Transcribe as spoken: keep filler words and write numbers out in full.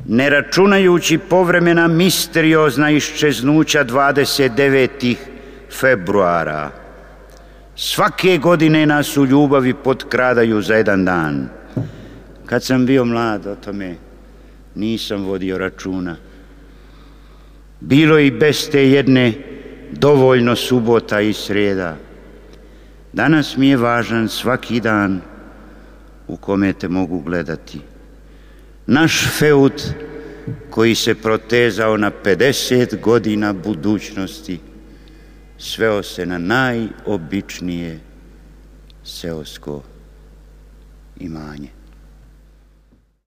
ne računajući povremena misteriozna iščeznuća dvadeset devetog februara. Svake godine nas u ljubavi potkradaju za jedan dan. Kad sam bio mlad, o tome nisam vodio računa. Bilo i bez te jedne dovoljno subota i srijeda. Danas mi je važan svaki dan u kome te mogu gledati. Naš feud koji se protezao na pedeset godina budućnosti sveo se na najobičnije seosko imanje.